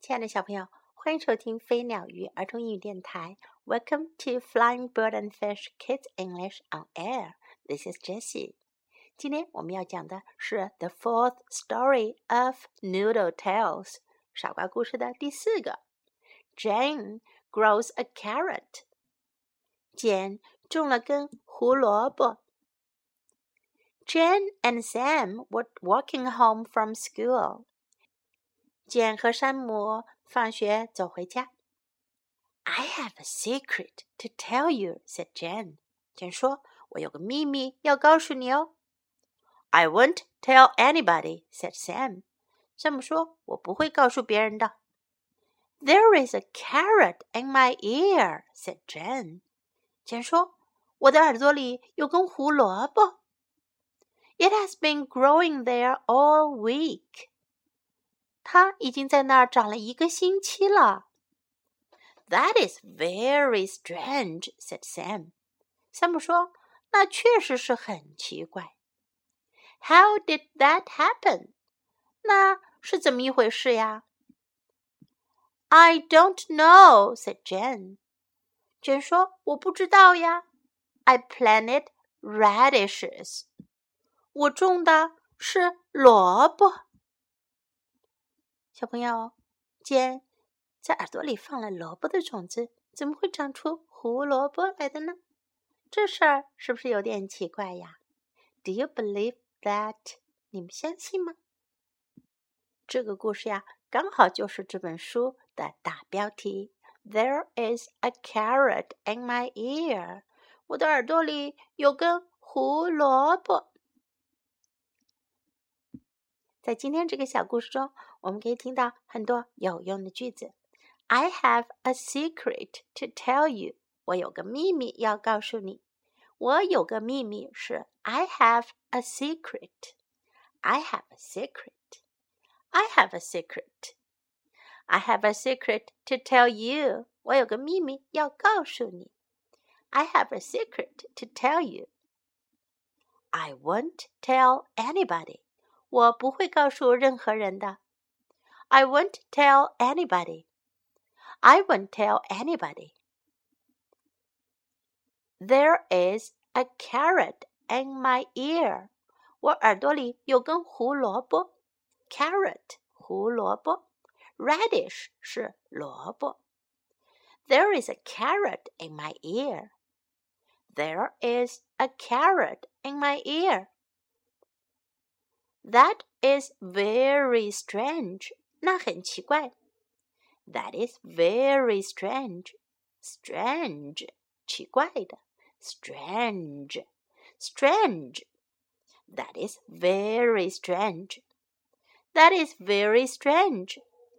亲爱的小朋友，欢迎收听飞鸟鱼儿童英语电台。Welcome to Flying Bird and Fish Kids English on Air. This is Jessie. 今天我们要讲的是 The Fourth Story of Noodle Tales 傻瓜故事的第四个。Jane grows a carrot. 简种了根胡萝卜。Jane and Sam were walking home from school. 简和山姆放学走回家。I have a secret to tell you, said Jane. 简说，我有个秘密要告诉你哦。I won't tell anybody, said Sam. 山姆说，我不会告诉别人的。There is a carrot in my ear, said Jane. 简说，我的耳朵里有根胡萝卜。It has been growing there all week. 它已经在那儿长了1个星期了。That is very strange, said Sam. 山姆说，那确实是很奇怪。How did that happen? 那是怎么一回事呀？ I don't know, said Jane. Jane 说，我不知道呀。I planted radishes. 我种的是萝卜。小朋友，简在耳朵里放了萝卜的种子，怎么会长出胡萝卜来的呢？这事儿是不是有点奇怪呀？ Do you believe that? 你们相信吗？这个故事呀，刚好就是这本书的大标题。There is a carrot in my ear. 我的耳朵里有根胡萝卜。在今天这个小故事中，我们可以听到很多有用的句子。I have a secret to tell you. 我有个秘密要告诉你。我有个秘密是 I have a secret. I have a secret. I have a secret. I have a secret to tell you. 我有个秘密要告诉你。I have a secret to tell you. I won't tell anybody. 我不会告诉任何人的。I won't tell anybody. I won't tell anybody. There is a carrot in my ear. 我耳朵里有根胡萝卜。Carrot, 胡萝卜。Radish 是萝卜。There is a carrot in my ear. There is a carrot in my ear. That is very strange. 那很奇怪。That is very strange. Strange, 奇怪的。Strange, strange. That is very strange. That is very strange.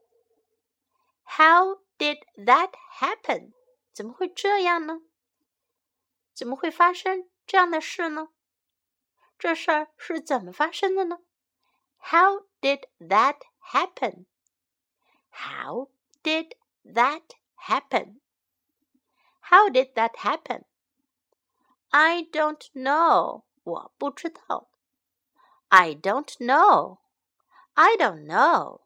How did that happen? 怎么会这样呢？怎么会发生这样的事呢？这事儿是怎么发生的呢？ How did that happen? How did that happen? How did that happen? I don't know. 我不知道。I don't know. I don't know.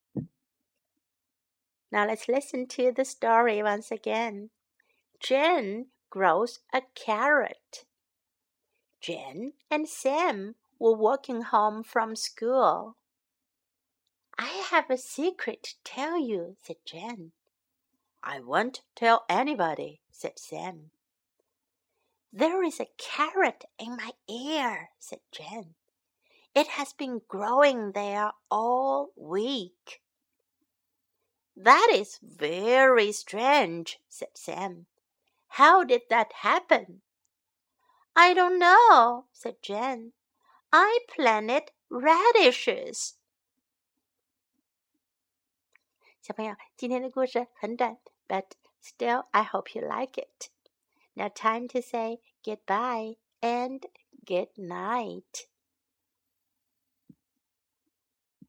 Now let's listen to the story once again. Jane grows a carrot. Jane and Sam were walking home from school. I have a secret to tell you, said Jane. I won't tell anybody, said Sam. There is a carrot in my ear, said Jane. It has been growing there all week. That is very strange, said Sam. How did that happen? I don't know, said Jane. I planted radishes. 小朋友，今天的故事很短 but still I hope you like it. Now time to say goodbye and good night.